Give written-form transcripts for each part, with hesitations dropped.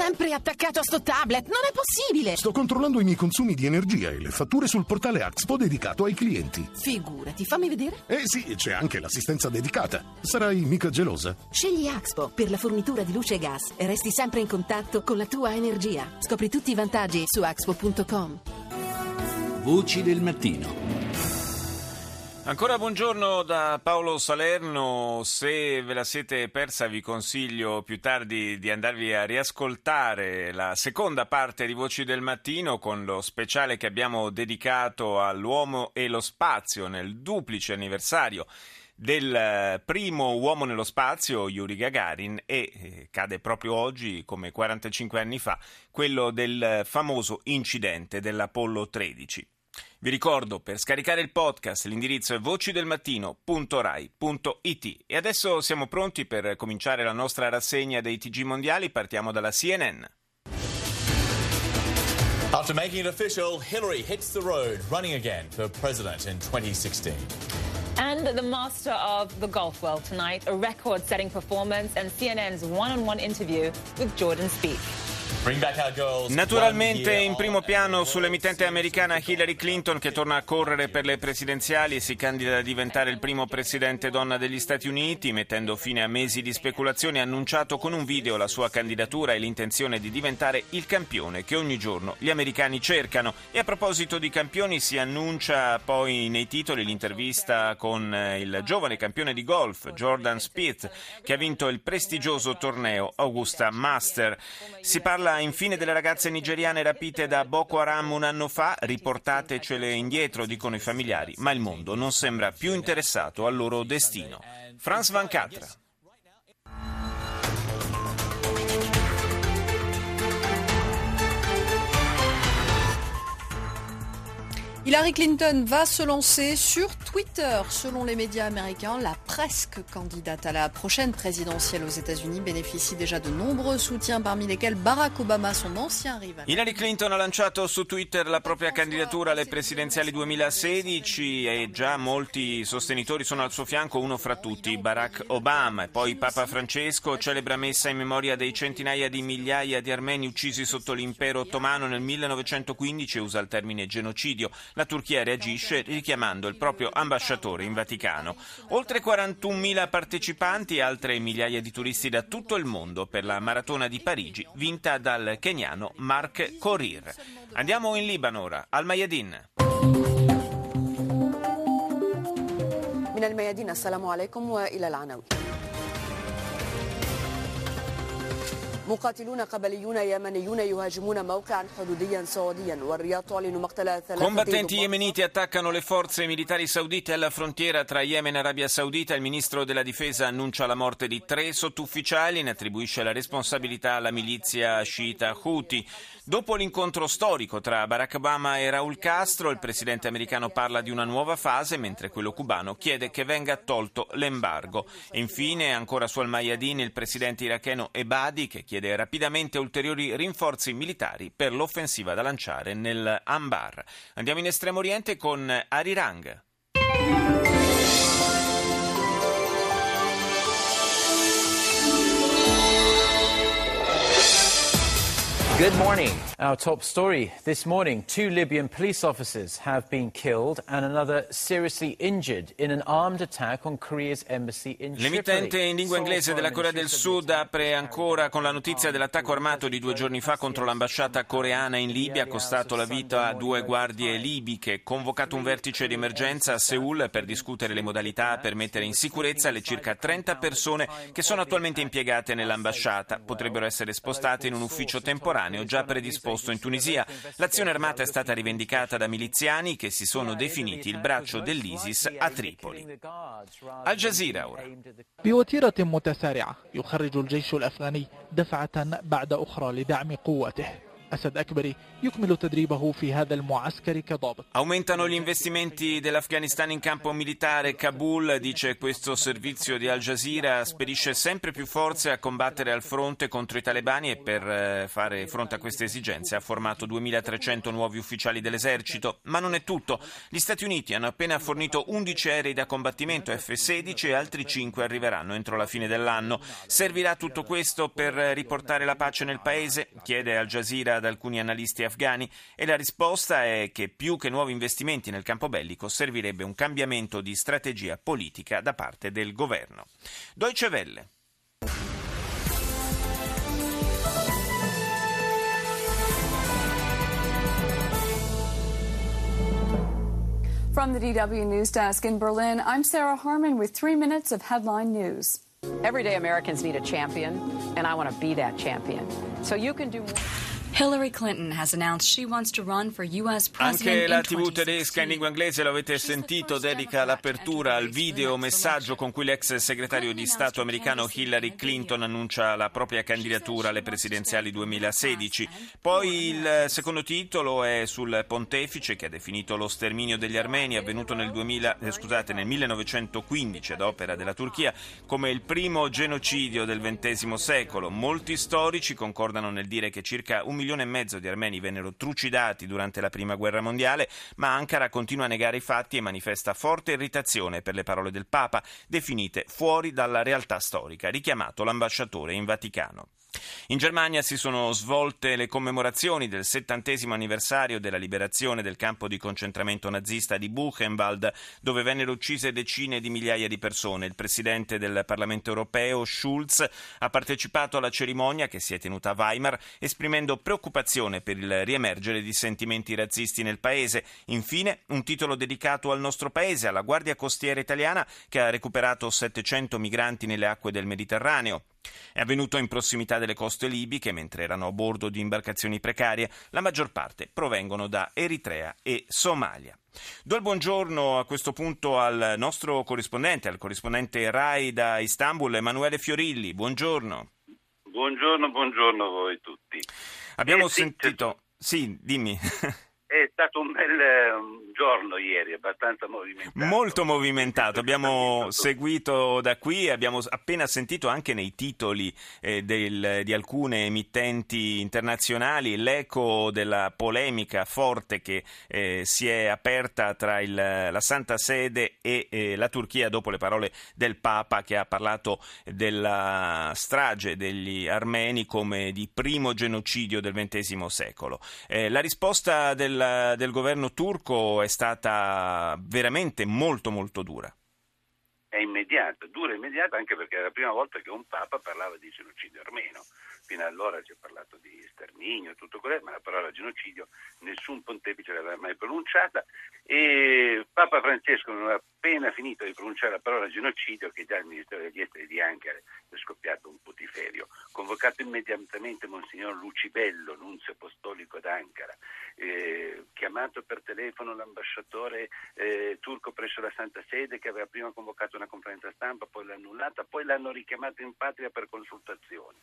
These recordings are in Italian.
sempre attaccato a sto tablet, non è possibile! Sto controllando i miei consumi di energia e le fatture sul portale Axpo dedicato ai clienti. Figurati, fammi vedere. Sì, c'è anche l'assistenza dedicata. Sarai mica gelosa? Scegli Axpo per la fornitura di luce e gas e resti sempre in contatto con la tua energia. Scopri tutti i vantaggi su axpo.com. Voci del mattino. Ancora buongiorno da Paolo Salerno. Se ve la siete persa vi consiglio più tardi di andarvi a riascoltare la seconda parte di Voci del Mattino con lo speciale che abbiamo dedicato all'uomo e lo spazio nel duplice anniversario del primo uomo nello spazio, Yuri Gagarin, e cade proprio oggi, come 45 anni fa, quello del famoso incidente dell'Apollo 13. Vi ricordo, per scaricare il podcast l'indirizzo è vocidelmattino.rai.it. E adesso siamo pronti per cominciare la nostra rassegna dei TG mondiali. Partiamo dalla CNN. After making it official, Hillary hits the road, running again for president in 2016. And the master of the golf world tonight, a record-setting performance and CNN's one-on-one interview with Jordan Spieth. Naturalmente in primo piano sull'emittente americana Hillary Clinton, che torna a correre per le presidenziali e si candida a diventare il primo presidente donna degli Stati Uniti, mettendo fine a mesi di speculazioni. Ha annunciato con un video la sua candidatura e l'intenzione di diventare il campione che ogni giorno gli americani cercano. E a proposito di campioni, si annuncia poi nei titoli l'intervista con il giovane campione di golf Jordan Spieth, che ha vinto il prestigioso torneo Augusta Master. Si parla infine delle ragazze nigeriane rapite da Boko Haram un anno fa. Riportatecele indietro, dicono i familiari, ma il mondo non sembra più interessato al loro destino. Franz Van Catra. Hillary Clinton va se lancer sur Twitter. Selon les médias américains, la presque candidate à la prochaine présidentielle aux États-Unis bénéficie déjà de nombreux soutiens, parmi lesquels Barack Obama, son ancien rival. Hillary Clinton ha lanciato su Twitter la propria candidatura alle presidenziali 2016 e già molti sostenitori sono al suo fianco, uno fra tutti Barack Obama. E poi Papa Francesco celebra messa in memoria dei centinaia di migliaia di armeni uccisi sotto l'impero ottomano nel 1915 e usa il termine genocidio. La Turchia reagisce richiamando il proprio ambasciatore in Vaticano. Oltre 41.000 partecipanti e altre migliaia di turisti da tutto il mondo per la maratona di Parigi, vinta dal keniano Mark Korir. Andiamo in Libano ora, al Mayadin. من الميادين السلام عليكم وإلى العناوين. مقاتلون قبليون يمنيون يهاجمون موقعا حدوديا سعوديا والرياض تعلن مقتل ثلاثة. Combattenti yemeniti attaccano le forze militari saudite alla frontiera tra Yemen e Arabia Saudita. Il ministro della difesa annuncia la morte di 3 sottufficiali e ne attribuisce la responsabilità alla milizia sciita Houthi. Dopo l'incontro storico tra Barack Obama e Raúl Castro, il presidente americano parla di una nuova fase, mentre quello cubano chiede che venga tolto l'embargo. E infine, ancora su Al Mayadin, il presidente iracheno Ebadi, che chiede rapidamente ulteriori rinforzi militari per l'offensiva da lanciare nel Anbar. Andiamo in Estremo Oriente con Arirang. Good morning. Our top story this morning. 2 Libyan police officers have been killed and another seriously injured in an armed attack on Korea's embassy in Tripoli. L'emittente in lingua inglese della Corea del Sud apre ancora con la notizia dell'attacco armato di 2 giorni fa contro l'ambasciata coreana in Libia, costato la vita a 2 guardie libiche. Convocato un vertice di emergenza a Seul per discutere le modalità per mettere in sicurezza le circa 30 persone che sono attualmente impiegate nell'ambasciata. Potrebbero essere spostate in un ufficio temporaneo già predisposto in Tunisia. L'azione armata è stata rivendicata da miliziani che si sono definiti il braccio dell'ISIS a Tripoli. Al Jazeera ora. بوتيرة متسارعة يخرج الجيش الأفغاني دفعة بعد أخرى لدعم قوته. أسد أكبري يكمل تدريبه في هذا المعسكر كضابط. Aumentano gli investimenti dell'Afghanistan in campo militare. Kabul, dice questo servizio di Al Jazeera, spedisce sempre più forze a combattere al fronte contro i talebani e per fare fronte a queste esigenze ha formato 2.300 nuovi ufficiali dell'esercito. Ma non è tutto. Gli Stati Uniti hanno appena fornito 11 aerei da combattimento F-16 e altri 5 arriveranno entro la fine dell'anno. Servirà tutto questo per riportare la pace nel paese? Chiede Al Jazeera ad alcuni analisti afghani, e la risposta è che più che nuovi investimenti nel campo bellico servirebbe un cambiamento di strategia politica da parte del governo. Deutsche Welle. From the DW News Desk in Berlin, I'm Sarah Harmon with 3 minutes of headline news. Everyday Americans need a champion, and I want to be that champion. So you can do more. Hillary Clinton has announced she wants to run for US president. Anche la TV tedesca in lingua inglese, lo avete sentito, dedica l'apertura al video messaggio con cui l'ex segretario di Stato americano Hillary Clinton annuncia la propria candidatura alle presidenziali 2016. Poi il secondo titolo è sul pontefice che ha definito lo sterminio degli armeni avvenuto nel 1915 ad opera della Turchia come il primo genocidio del XX secolo. Molti storici concordano nel dire che circa 1,5 milioni di armeni vennero trucidati durante la Prima Guerra Mondiale, ma Ankara continua a negare i fatti e manifesta forte irritazione per le parole del Papa, definite fuori dalla realtà storica, richiamato l'ambasciatore in Vaticano. In Germania si sono svolte le commemorazioni del 70° anniversario della liberazione del campo di concentramento nazista di Buchenwald, dove vennero uccise decine di migliaia di persone. Il presidente del Parlamento europeo, Schulz, ha partecipato alla cerimonia che si è tenuta a Weimar, esprimendo preoccupazione per il riemergere di sentimenti razzisti nel paese. Infine, un titolo dedicato al nostro paese, alla Guardia Costiera italiana, che ha recuperato 700 migranti nelle acque del Mediterraneo. È avvenuto in prossimità delle coste libiche, mentre erano a bordo di imbarcazioni precarie. La maggior parte provengono da Eritrea e Somalia. Do il buongiorno a questo punto al nostro corrispondente, al corrispondente RAI da Istanbul, Emanuele Fiorilli. Buongiorno. Buongiorno a voi tutti. Abbiamo sentito... Sì, dimmi. È stato un bel giorno ieri, abbastanza movimentato. Molto movimentato, abbiamo seguito da qui, abbiamo appena sentito anche nei titoli di alcune emittenti internazionali l'eco della polemica forte che si è aperta tra la Santa Sede e la Turchia dopo le parole del Papa, che ha parlato della strage degli armeni come di primo genocidio del XX secolo. La risposta del governo turco è stata veramente molto molto dura. È immediata, dura e immediata, anche perché è la prima volta che un Papa parlava di genocidio armeno. Fino allora si è parlato di sterminio e tutto quello, ma la parola genocidio nessun pontefice l'aveva mai pronunciata, e Papa Francesco non aveva appena finito di pronunciare la parola genocidio che già il Ministero degli Esteri di Ankara è scoppiato un putiferio. Convocato immediatamente Monsignor Lucibello, nunzio apostolico d'Ankara, chiamato per telefono l'ambasciatore turco presso la Santa Sede, che aveva prima convocato una conferenza stampa, poi l'ha annullata, poi l'hanno richiamato in patria per consultazioni.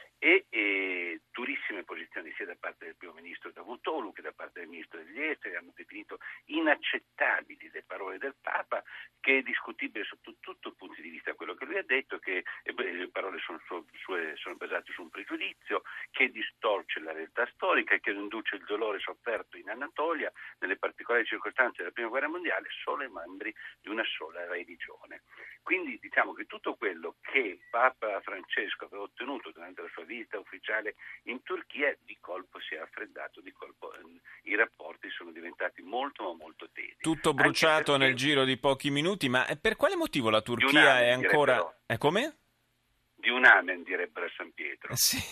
E durissime posizioni sia da parte del primo ministro Davutoglu che da parte del ministro degli esteri. Hanno definito inaccettabili le parole del Papa, che è discutibile sotto tutto il punto di vista quello che lui ha detto, che le parole sono basate su un pregiudizio, che distorce la realtà storica e che induce il dolore sofferto in Anatolia nelle particolari circostanze della Prima Guerra Mondiale solo ai membri di una sola religione. Quindi diciamo che tutto quello che Papa Francesco aveva ottenuto durante la sua visita ufficiale in Turchia di colpo si è raffreddato, di colpo i rapporti sono diventati molto ma molto tesi. Tutto bruciato nel giro di pochi minuti, ma per quale motivo la Turchia è ancora... Come? Di un amen, direbbero a San Pietro. Sì,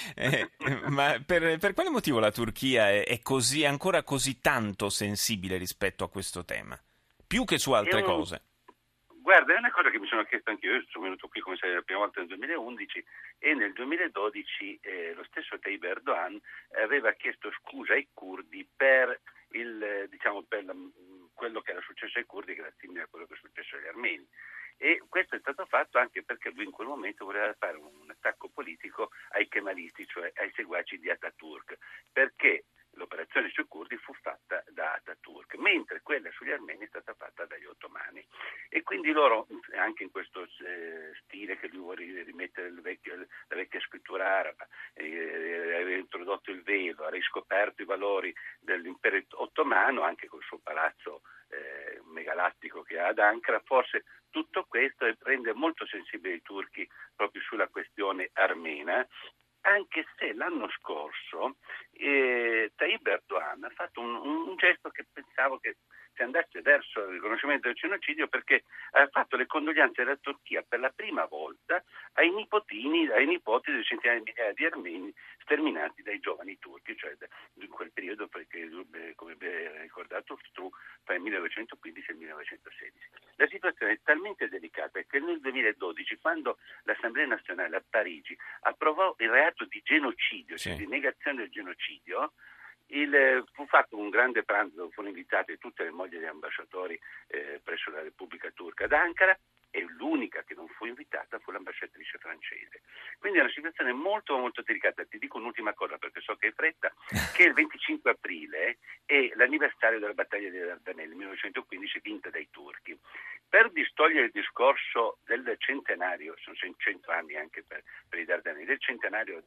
ma per quale motivo la Turchia è così, ancora così tanto sensibile rispetto a questo tema? Più che su altre cose. Guarda, è una cosa che mi sono chiesto anche io sono venuto qui come sai la prima volta nel 2011 e nel 2012 lo stesso Tayyip Erdogan aveva chiesto scusa ai curdi per quello che era successo ai curdi, che era simile a quello che è successo agli armeni. e questo è stato fatto anche perché lui in quel momento voleva fare un attacco politico ai kemalisti, cioè ai seguaci di Ataturk, perché l'operazione sui curdi fu fatta da Ataturk, mentre quella sugli armeni è stata fatta dagli ottomani. E quindi loro, anche in questo stile che lui vuole rimettere la vecchia scrittura araba, aveva introdotto il velo, ha riscoperto i valori dell'impero ottomano, anche col suo palazzo megalattico che ha ad Ankara, forse tutto questo rende molto sensibili i turchi proprio sulla questione armena, anche se l'anno scorso Tayyip Erdogan ha fatto un gesto che pensavo che si andasse verso il riconoscimento del genocidio, perché ha fatto le condoglianze della Turchia per la prima volta ai nipoti di centinaia di migliaia di armeni sterminati dai giovani turchi, cioè in quel periodo, perché come ha ricordato Stru, tra il 1915 e il 1916. La situazione è talmente delicata che nel 2012, quando l'Assemblea nazionale a Parigi approvò il reato di genocidio, cioè di negazione del genocidio, fu fatto un grande pranzo dove furono invitate tutte le mogli degli ambasciatori presso la Repubblica Turca ad Ankara, e l'unica che non fu invitata fu l'ambasciatrice francese. Quindi è una situazione molto molto delicata. Ti dico un'ultima cosa, perché so che hai fretta, che il 25 aprile è l'anniversario della battaglia dei Dardanelli, 1915, vinta dai turchi. Per distogliere il discorso del centenario, sono 100 anni anche per i Dardanelli, del centenario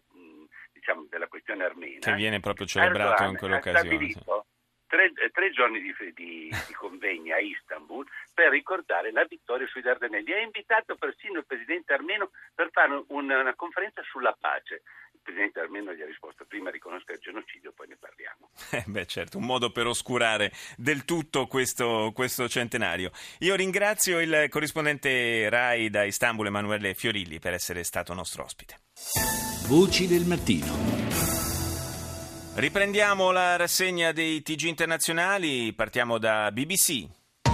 della questione armena, che viene proprio celebrato in quell'occasione. Ha stabilito tre giorni di convegni a Istanbul per ricordare la vittoria sui Dardanelli. Ha invitato persino il presidente armeno per fare una conferenza sulla pace. Il presidente armeno gli ha risposto: prima riconosca il genocidio, poi ne parliamo. Certo, un modo per oscurare del tutto questo centenario. Io ringrazio il corrispondente RAI da Istanbul, Emanuele Fiorilli, per essere stato nostro ospite. Voci del mattino. Riprendiamo la rassegna dei TG internazionali, partiamo da BBC.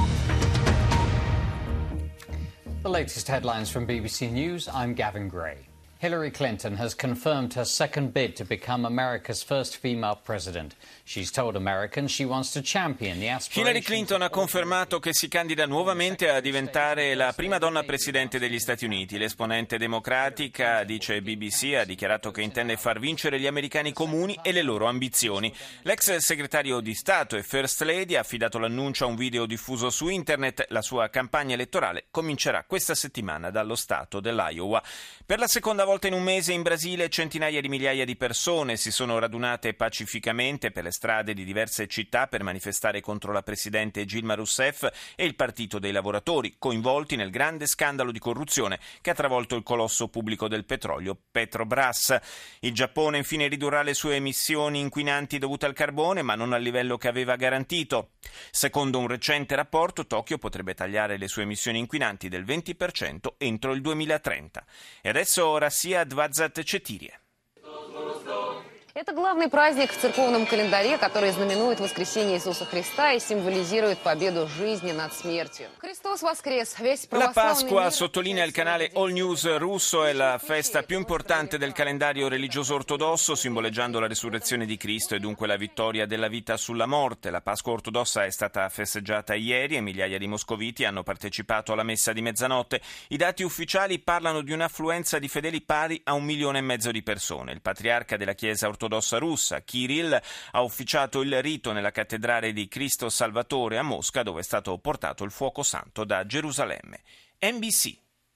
The latest headlines from BBC News, I'm Gavin Gray. Hillary Clinton has confirmed her second bid to become America's first female president. She's told Americans she wants to champion the aspirations. Hillary Clinton ha confermato che si candida nuovamente a diventare la prima donna presidente degli Stati Uniti. L'esponente democratica, dice BBC, ha dichiarato che intende far vincere gli americani comuni e le loro ambizioni. L'ex segretario di Stato e First Lady ha affidato l'annuncio a un video diffuso su internet. La sua campagna elettorale comincerà questa settimana dallo stato dell'Iowa. Per la seconda volta in un mese in Brasile centinaia di migliaia di persone si sono radunate pacificamente per le strade di diverse città per manifestare contro la presidente Dilma Rousseff e il Partito dei Lavoratori, coinvolti nel grande scandalo di corruzione che ha travolto il colosso pubblico del petrolio Petrobras. Il Giappone infine ridurrà le sue emissioni inquinanti dovute al carbone, ma non al livello che aveva garantito. Secondo un recente rapporto, Tokyo potrebbe tagliare le sue emissioni inquinanti del 20% entro il 2030. E adesso Россия 24. Это главный праздник в церковном календаре, который знаменует воскресение Иисуса Христа и символизирует победу жизни над смертью. Христос воскрес! Весь La православный Pasqua, мир... sottolinea il canale All News russo, è la festa più importante del calendario religioso ortodosso, simboleggiando la risurrezione di Cristo e dunque la vittoria della vita sulla morte. La Pasqua ortodossa è stata festeggiata ieri e migliaia di moscoviti hanno partecipato alla messa di mezzanotte. I dati ufficiali parlano di un'affluenza di fedeli pari a 1,5 milioni di persone. Il patriarca della Chiesa ortodossa russa, Kirill, ha ufficiato il rito nella cattedrale di Cristo Salvatore a Mosca, dove è stato portato il fuoco santo da Gerusalemme. NBC.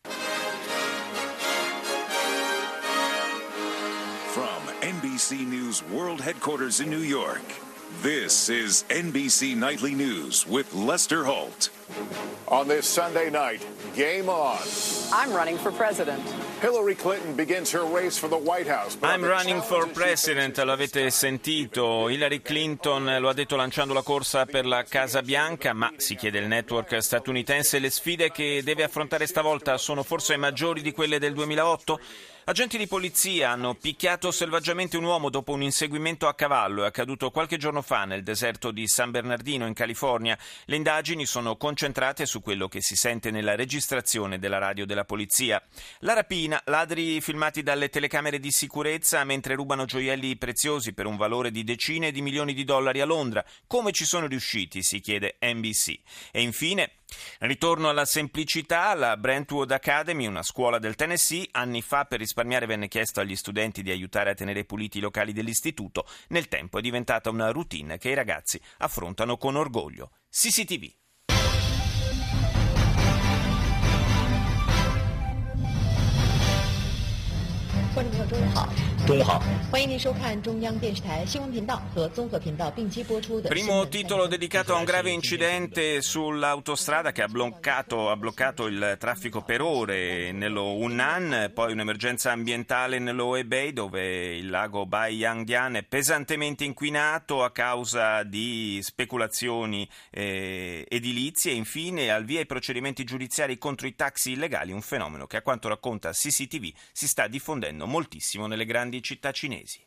From NBC News World Headquarters in New York, this is NBC Nightly News with Lester Holt. On this Sunday night, game on. I'm running for president. Hillary Clinton begins her race for the White House. I'm running for president, lo avete sentito. Hillary Clinton lo ha detto lanciando la corsa per la Casa Bianca, ma si chiede il network statunitense, le sfide che deve affrontare stavolta sono forse maggiori di quelle del 2008? Agenti di polizia hanno picchiato selvaggiamente un uomo dopo un inseguimento a cavallo. È accaduto qualche giorno fa nel deserto di San Bernardino in California. Le indagini sono concentrate su quello che si sente nella registrazione della radio della polizia. La rapina, ladri filmati dalle telecamere di sicurezza mentre rubano gioielli preziosi per un valore di decine di milioni di dollari a Londra. Come ci sono riusciti, si chiede NBC. E infine Ritorno alla semplicità, la Brentwood Academy, una scuola del Tennessee, anni fa per risparmiare venne chiesto agli studenti di aiutare a tenere puliti i locali dell'istituto, nel tempo è diventata una routine che i ragazzi affrontano con orgoglio. CCTV. 观众朋友，中午好。中午好，欢迎您收看中央电视台新闻频道和综合频道并机播出的。 Primo titolo dedicato a un grave incidente sull'autostrada che ha bloccato il traffico per ore nello Hunan, poi un'emergenza ambientale nello Hebei dove il lago Baiyangdian è pesantemente inquinato a causa di speculazioni edilizie e infine al via i procedimenti giudiziari contro i taxi illegali, un fenomeno che a quanto racconta CCTV si sta diffondendo moltissimo nelle grandi città cinesi.